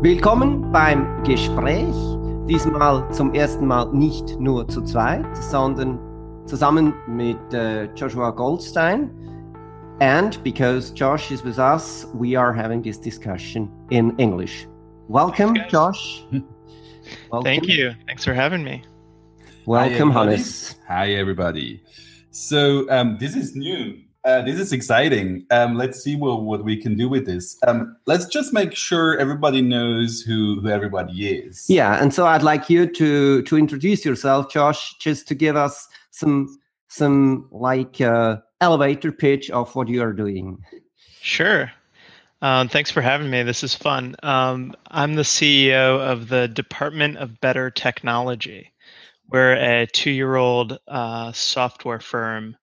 Willkommen beim Gespräch. Diesmal zum ersten Mal nicht nur zu zweit, sondern zusammen mit Joshua Goldstein. And because Josh is with us, we are having this discussion in English. Welcome, Josh. Welcome. Thank you. Thanks for having me. Welcome, Hannes. Hi, everybody. So this is new. This is exciting. Let's see what we can do with this. Let's just make sure everybody knows who everybody is. Yeah, and so I'd like you to introduce yourself, Josh, just to give us some elevator pitch of what you are doing. Sure. Thanks for having me. This is fun. I'm the CEO of the Department of Better Technology. We're a 2-year-old software firm,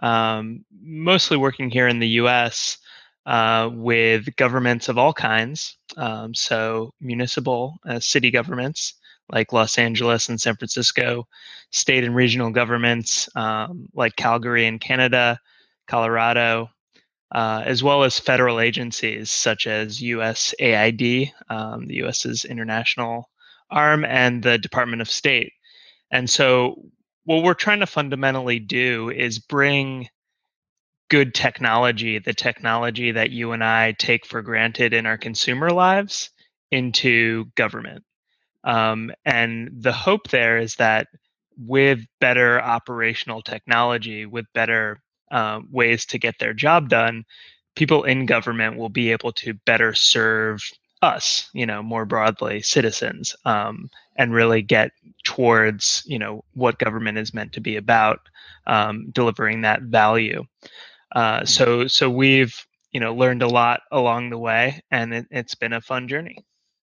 mostly working here in the US with governments of all kinds. So municipal, city governments like Los Angeles and San Francisco, state and regional governments like Calgary in Canada, Colorado, as well as federal agencies such as USAID, the US's international arm, and the Department of State. And so what we're trying to fundamentally do is bring good technology, the technology that you and I take for granted in our consumer lives, into government. And the hope there is that with better operational technology, with better ways to get their job done, people in government will be able to better serve us, more broadly, citizens, and really get towards, what government is meant to be about, delivering that value. So we've, learned a lot along the way, and it's been a fun journey.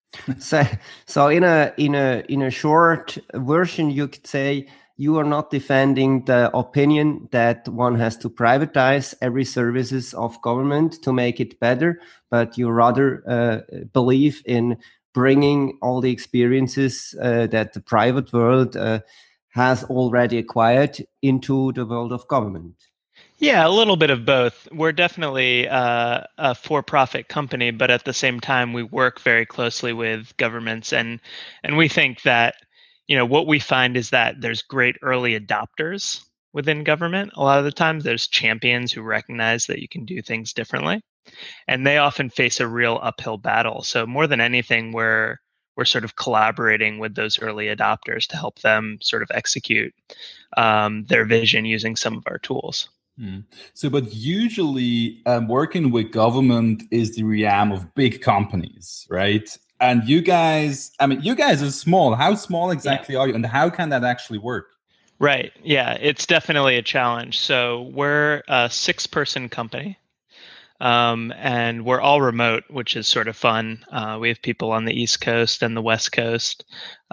So in a short version, you could say you are not defending the opinion that one has to privatize every services of government to make it better, but you rather believe in bringing all the experiences that the private world has already acquired into the world of government. Yeah, a little bit of both. We're definitely a for-profit company, but at the same time, we work very closely with governments, and we think that what we find is that there's great early adopters within government. A lot of the times, there's champions who recognize that you can do things differently, and they often face a real uphill battle. So more than anything, we're sort of collaborating with those early adopters to help them sort of execute their vision using some of our tools. So, but usually working with government is the realm of big companies, right? And you guys are small. How small exactly are you? And how can that actually work? Right. Yeah, it's definitely a challenge. So we're a 6-person company. And we're all remote, which is sort of fun. We have people on the East Coast and the West Coast.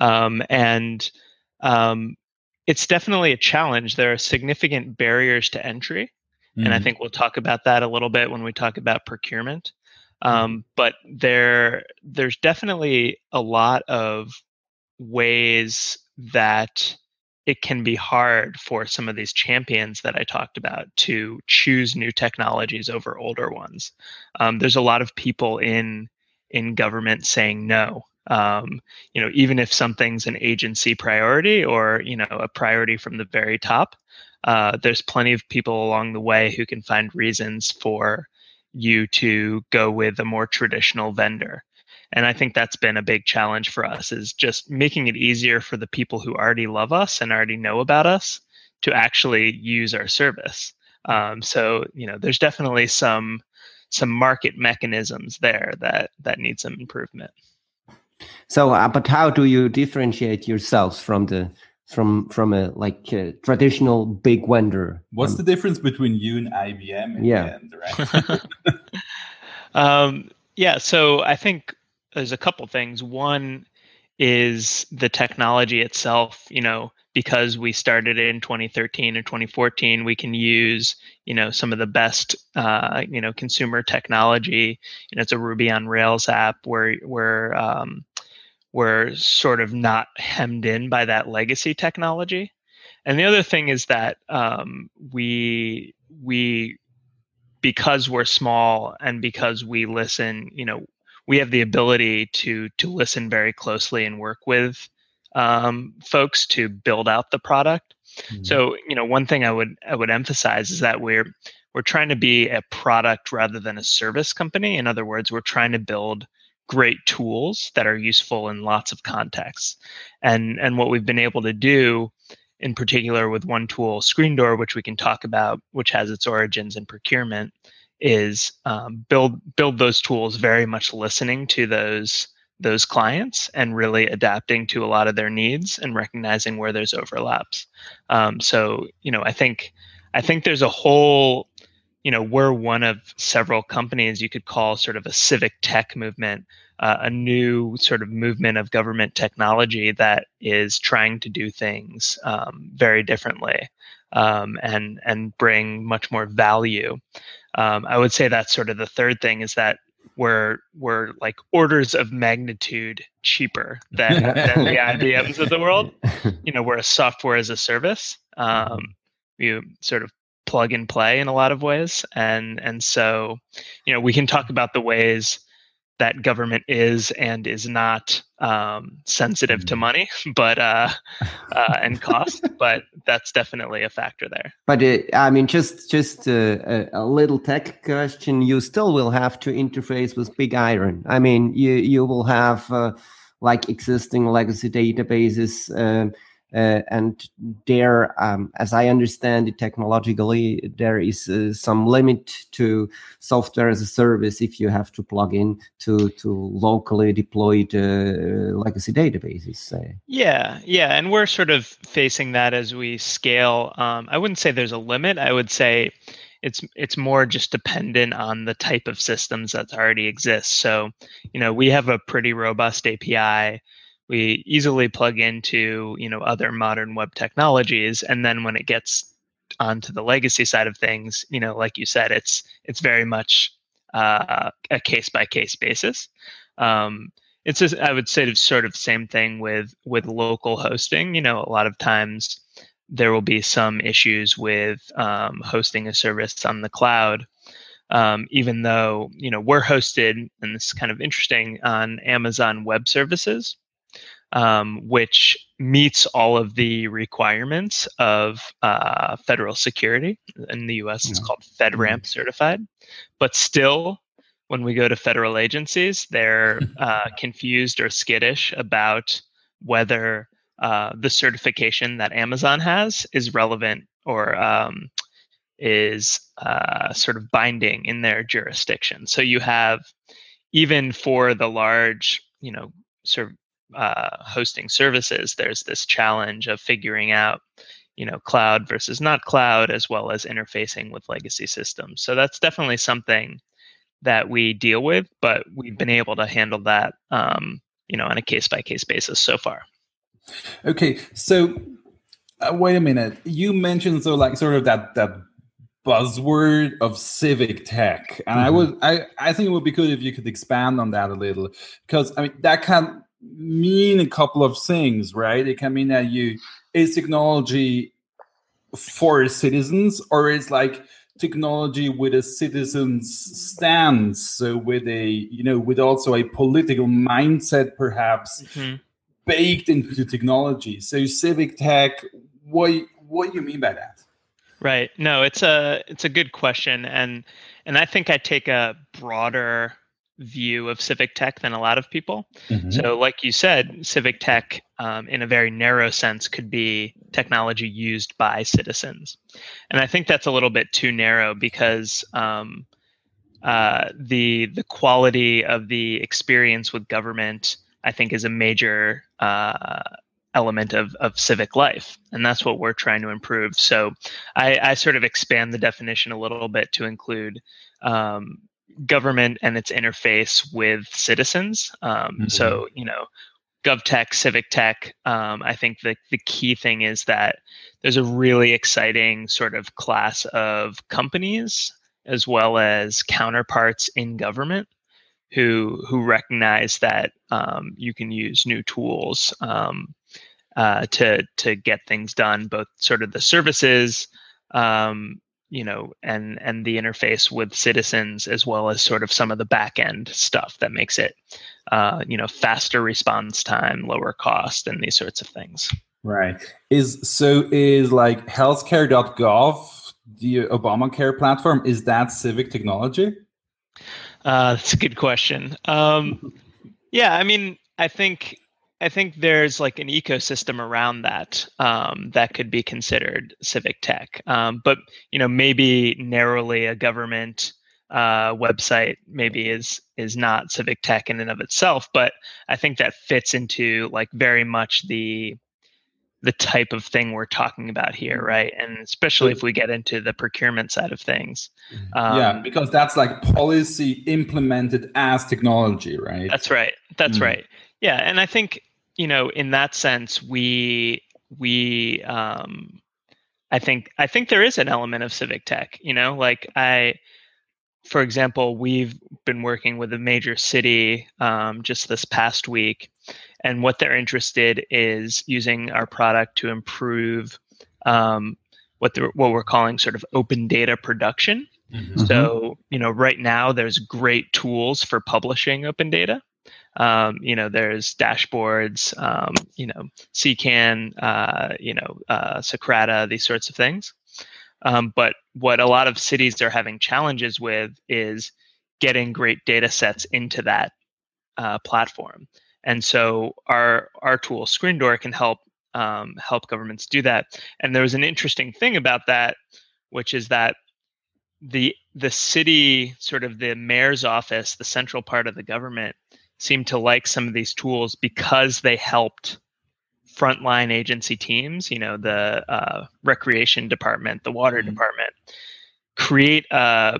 It's definitely a challenge. There are significant barriers to entry. And I think we'll talk about that a little bit when we talk about procurement. But there's definitely a lot of ways that it can be hard for some of these champions that I talked about to choose new technologies over older ones. There's a lot of people in government saying no. Even if something's an agency priority or a priority from the very top, there's plenty of people along the way who can find reasons for you to go with a more traditional vendor. And I think that's been a big challenge for us, is just making it easier for the people who already love us and already know about us to actually use our service. So there's definitely some market mechanisms there that need some improvement. So, but how do you differentiate yourselves from a traditional big vendor? What's the difference between you and IBM in the end, right? So I think there's a couple things. One is the technology itself. Because we started in 2013 or 2014, we can use some of the best consumer technology. It's a Ruby on Rails app where we're sort of not hemmed in by that legacy technology. And the other thing is that we because we're small and because we listen, we have the ability to listen very closely and work with folks to build out the product. Mm-hmm. So, one thing I would emphasize is that we're trying to be a product rather than a service company. In other words, we're trying to build great tools that are useful in lots of contexts. And what we've been able to do, in particular with one tool, ScreenDoor, which we can talk about, which has its origins in procurement, is build those tools very much listening to those clients and really adapting to a lot of their needs and recognizing where there's overlaps. So, I think there's a whole, we're one of several companies you could call sort of a civic tech movement, a new sort of movement of government technology that is trying to do things very differently and bring much more value. I would say that's sort of the third thing, is that we're like orders of magnitude cheaper than the IBMs of the world. We're a software as a service. You sort of plug and play in a lot of ways, and so we can talk about the ways that government is and is not sensitive to money, but and cost, but that's definitely a factor there. But just a little tech question. You still will have to interface with big iron. I mean, you will have like existing legacy databases. And there, as I understand it, technologically, there is some limit to software as a service if you have to plug in to locally deployed legacy databases. Yeah, and we're sort of facing that as we scale. I wouldn't say there's a limit. I would say it's more just dependent on the type of systems that already exist. So, we have a pretty robust API. We easily plug into, other modern web technologies. And then when it gets onto the legacy side of things, like you said, it's very much a case by case basis. It's just, I would say, sort of same thing with local hosting. A lot of times there will be some issues with hosting a service on the cloud. Even though, we're hosted, and this is kind of interesting, on Amazon Web Services, which meets all of the requirements of federal security. In the US, it's called FedRAMP certified. But still, when we go to federal agencies, they're confused or skittish about whether the certification that Amazon has is relevant or is sort of binding in their jurisdiction. So you have, even for the large, sort of hosting services, there's this challenge of figuring out, cloud versus not cloud, as well as interfacing with legacy systems. So that's definitely something that we deal with, but we've been able to handle that, on a case by case basis so far. Okay, so wait a minute. You mentioned sort of that buzzword of civic tech, and I think it would be good if you could expand on that a little, because that can mean a couple of things, right? It can mean that it's technology for citizens, or it's like technology with a citizen's stance, so with with also a political mindset, perhaps baked into the technology. So civic tech, what do you mean by that? Right. No, it's a good question, and I think I take a broader view of civic tech than a lot of people. So like you said, civic tech in a very narrow sense could be technology used by citizens. And I think that's a little bit too narrow, because the quality of the experience with government, I think, is a major element of civic life. And that's what we're trying to improve. So I sort of expand the definition a little bit to include government and its interface with citizens. So, GovTech, civic tech, I think the key thing is that there's a really exciting sort of class of companies, as well as counterparts in government, who recognize that you can use new tools to get things done, both sort of the services and the interface with citizens, as well as sort of some of the back end stuff that makes it, faster response time, lower cost, and these sorts of things. Right. Is like healthcare.gov, the Obamacare platform, is that civic technology? That's a good question. Yeah, I mean, I think there's like an ecosystem around that that could be considered civic tech, but maybe narrowly a government website maybe is not civic tech in and of itself. But I think that fits into like very much the type of thing we're talking about here, right? And especially if we get into the procurement side of things. Yeah, because that's like policy implemented as technology, right? That's right. That's right. Yeah, and I think in that sense, I think there is an element of civic tech. For example, we've been working with a major city just this past week, and what they're interested is using our product to improve what we're calling sort of open data production. Mm-hmm. So, right now there's great tools for publishing open data. There's dashboards, CCAN, Socrata, these sorts of things. But what a lot of cities are having challenges with is getting great data sets into that platform. And so our tool ScreenDoor can help governments do that. And there was an interesting thing about that, which is that the city, sort of the mayor's office, the central part of the government, seemed to like some of these tools because they helped frontline agency teams, the recreation department, the water department, create a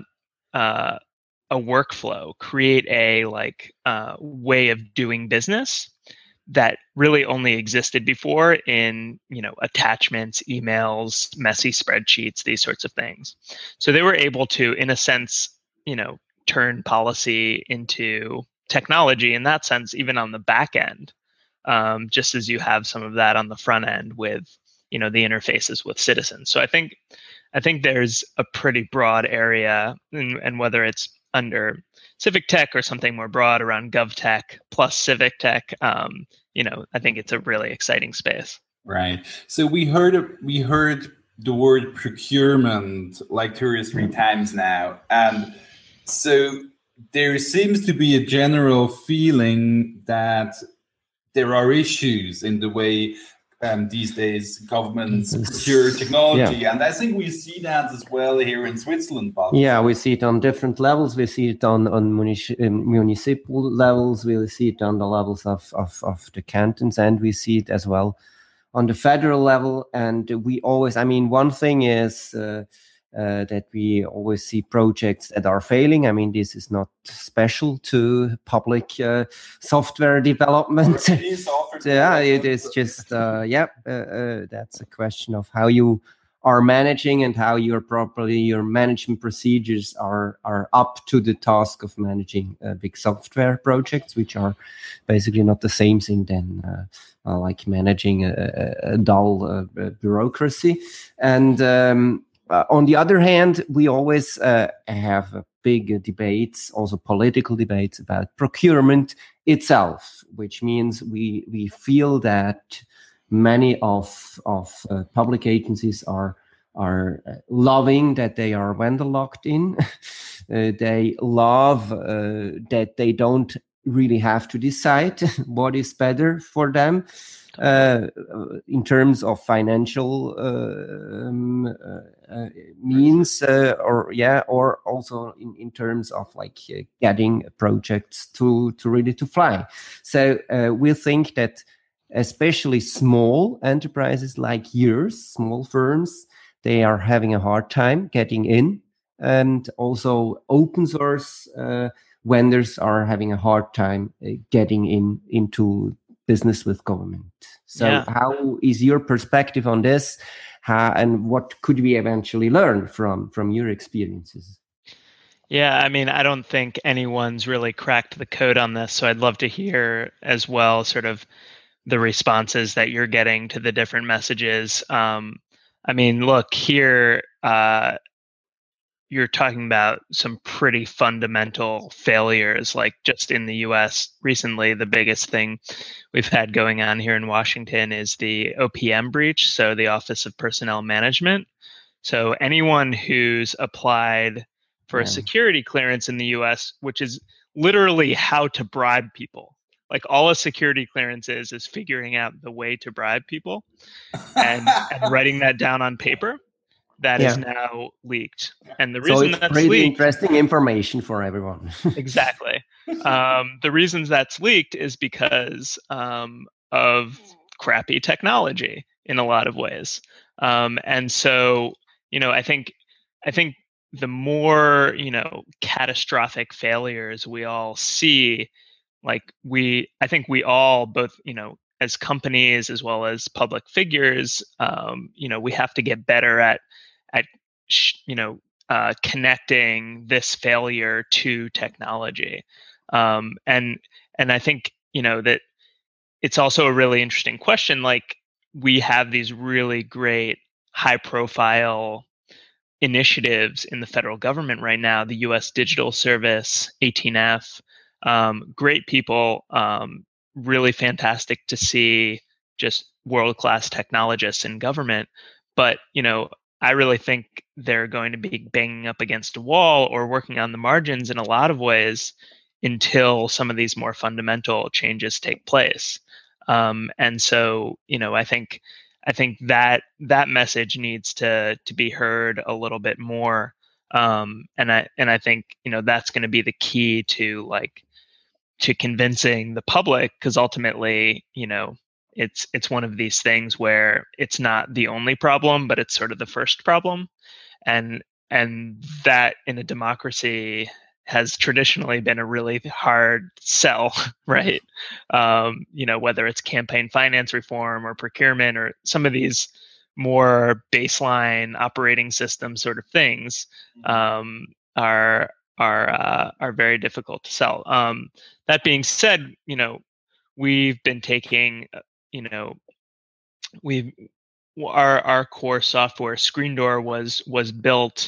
workflow, create a way of doing business that really only existed before in attachments, emails, messy spreadsheets, these sorts of things. So they were able to, in a sense, turn policy into technology in that sense, even on the back end, just as you have some of that on the front end with the interfaces with citizens. So I think there's a pretty broad area, and whether it's under civic tech or something more broad around gov tech plus civic tech, I think it's a really exciting space. Right. So we heard the word procurement like 2 or 3 times now, and so there seems to be a general feeling that there are issues in the way these days governments procure technology. And I think we see that as well here in Switzerland. Yeah, we see it on different levels. We see it on municipal levels. We see it on the levels of the cantons, and we see it as well on the federal level. And we always, one thing is that we always see projects that are failing. This is not special to public software development. It is just, that's a question of how you are managing and how your management procedures are up to the task of managing big software projects, which are basically not the same thing than like managing a dull bureaucracy. And on the other hand, we always have big debates, also political debates about procurement itself, which means we feel that many of public agencies are loving that they are vendor locked in. They love that they don't really have to decide what is better for them. In terms of financial means, or also in terms of getting projects to really to fly. So we think that especially small enterprises like yours, small firms, they are having a hard time getting in, and also open source vendors are having a hard time getting into business with government. So How is your perspective on this? And what could we eventually learn from your experiences? Yeah, I don't think anyone's really cracked the code on this. So I'd love to hear as well sort of the responses that you're getting to the different messages. Look, here you're talking about some pretty fundamental failures. Like just in the U.S. recently, the biggest thing we've had going on here in Washington is the OPM breach, so the Office of Personnel Management. So anyone who's applied for a security clearance in the US, which is literally how to bribe people. Like all a security clearance is figuring out the way to bribe people and writing that down on paper. That is now leaked. And the reason it's that's pretty leaked, interesting information for everyone. exactly. The reasons that's leaked is because of crappy technology in a lot of ways. And so, I think the more, catastrophic failures we all see, I think we all both, as companies as well as public figures, we have to get better at, connecting this failure to technology. And I think, that it's also a really interesting question. Like we have these really great high profile initiatives in the federal government right now, the US Digital Service, 18F, great people, really fantastic to see, just world-class technologists in government. But, I really think they're going to be banging up against a wall or working on the margins in a lot of ways until some of these more fundamental changes take place. And so, I think that message needs to be heard a little bit more. And I think, that's going to be the key to convincing the public, because ultimately, it's one of these things where it's not the only problem, but it's sort of the first problem. And that in a democracy has traditionally been a really hard sell, right? Whether it's campaign finance reform or procurement or some of these more baseline operating system sort of things, are very difficult to sell. That being said, we've been taking, our core software, ScreenDoor, was built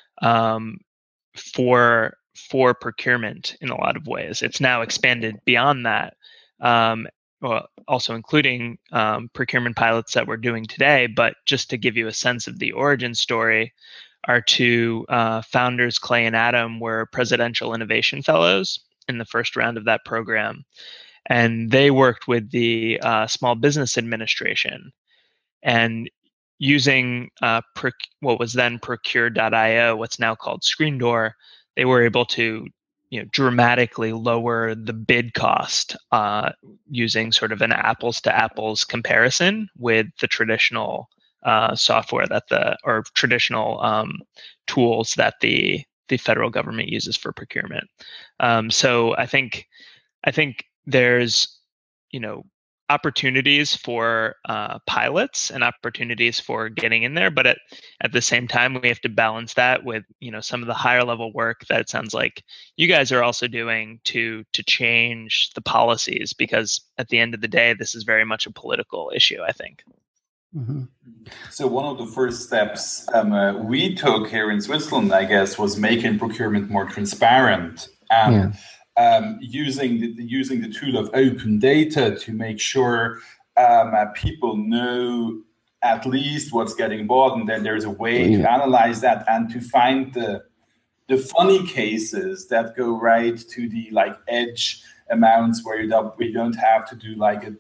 for procurement in a lot of ways. It's now expanded beyond that, well, also including procurement pilots that we're doing today. But just to give you a sense of the origin story, our two founders, Clay and Adam, were Presidential Innovation Fellows in the first round of that program. And they worked with the Small Business Administration and using what was then Procure.io, what's now called ScreenDoor, they were able to dramatically lower the bid cost using sort of an apples to apples comparison with the traditional software or traditional tools that the federal government uses for procurement. So I think there's opportunities for pilots and opportunities for getting in there, but at the same time we have to balance that with some of the higher level work that it sounds like you guys are also doing to change the policies, because at the end of the day this is very much a political issue, I think. Mm-hmm. So one of the first steps we took here in Switzerland, I guess, was making procurement more transparent and using the tool of open data to make sure people know at least what's getting bought, and then there's a way to analyze that and to find the funny cases that go right to the edge amounts where you don't have to do a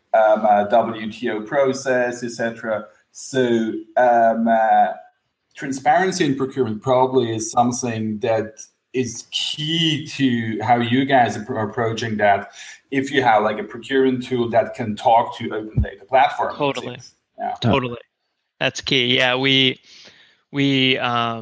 WTO process, etc. So transparency in procurement probably is something that is key to how you guys are approaching that. If you have a procurement tool that can talk to open data platforms, totally, that's key. Yeah, we've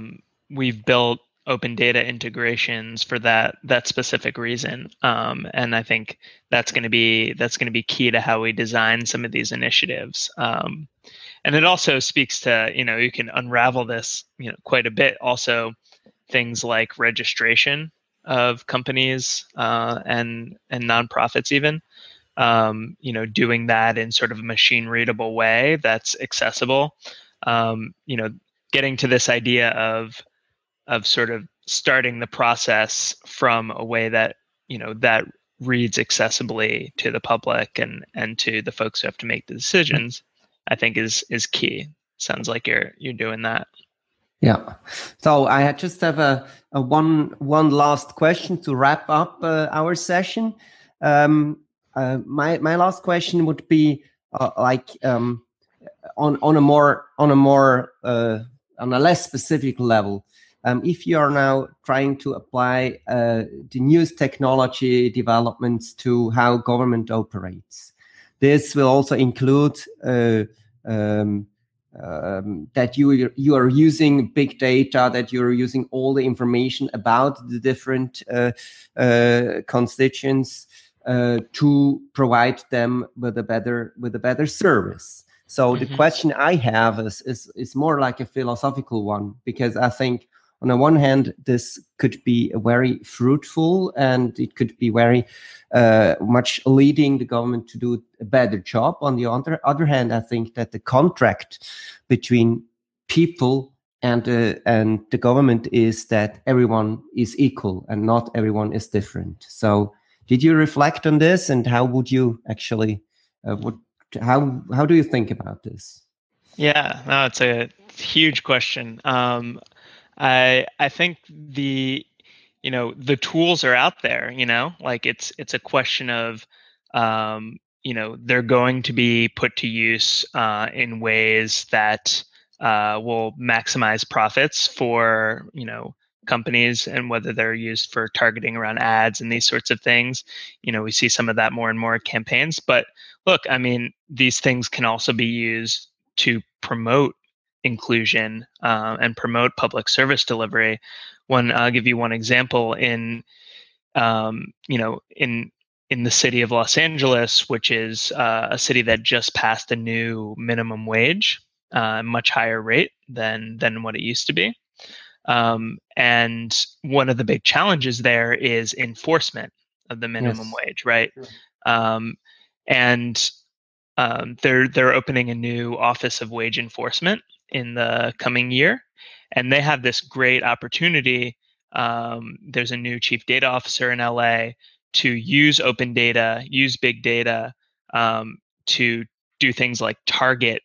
built open data integrations for that specific reason, and I think that's going to be key to how we design some of these initiatives. And it also speaks to you can unravel this quite a bit. Also, things like registration of companies and nonprofits, even doing that in sort of a machine readable way that's accessible. Getting to this idea of sort of starting the process from a way that, that reads accessibly to the public and to the folks who have to make the decisions, I think is key. Sounds like you're doing that. Yeah. So I just have a one last question to wrap up our session. My last question would be on a less specific level. If you are now trying to apply the newest technology developments to how government operates, this will also include that you are using big data, that you're using all the information about the different constituents to provide them with a better service. So the question I have is more like a philosophical one, because I think on the one hand, this could be very fruitful and it could be very much leading the government to do a better job. On the other hand, I think that the contract between people and the government is that everyone is equal and not everyone is different. So did you reflect on this, and how would you actually, how do you think about this? Yeah, no, it's a huge question. I think the tools are out there, like it's a question of, they're going to be put to use in ways that will maximize profits for, companies, and whether they're used for targeting around ads and these sorts of things. We see some of that more and more campaigns. But look, I mean, these things can also be used to promote inclusion and promote public service delivery. I'll give you one example in the city of Los Angeles, which is a city that just passed a new minimum wage, much higher rate than what it used to be. And one of the big challenges there is enforcement of the minimum wage, right? Sure. They're opening a new Office of Wage Enforcement in the coming year, and they have this great opportunity. There's a new chief data officer in LA to use open data, use big data to do things like target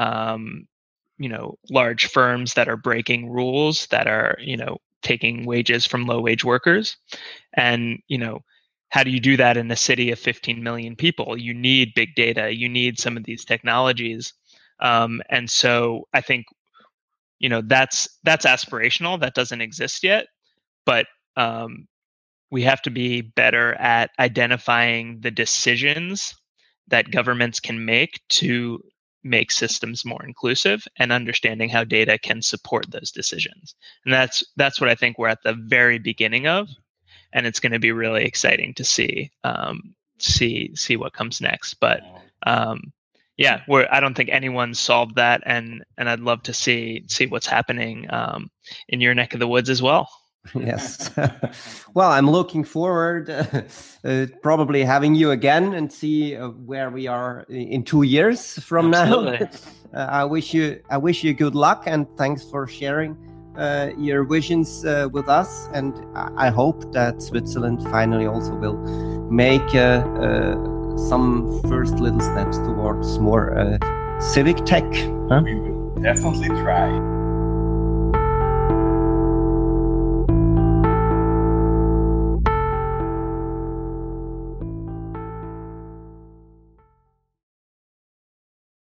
large firms that are breaking rules, that are taking wages from low wage workers. And how do you do that in a city of 15 million people? You need big data, you need some of these technologies. And so I think that's aspirational, that doesn't exist yet, but we have to be better at identifying the decisions that governments can make to make systems more inclusive, and understanding how data can support those decisions. And that's what I think we're at the very beginning of, and it's going to be really exciting to see what comes next. But yeah, I don't think anyone's solved that, and I'd love to see what's happening in your neck of the woods as well. Yes. Well, I'm looking forward probably having you again and see where we are in 2 years from Absolutely. now. I wish you good luck, and thanks for sharing your visions with us. And I hope that Switzerland finally also will make some first little steps towards more civic tech. We will definitely try.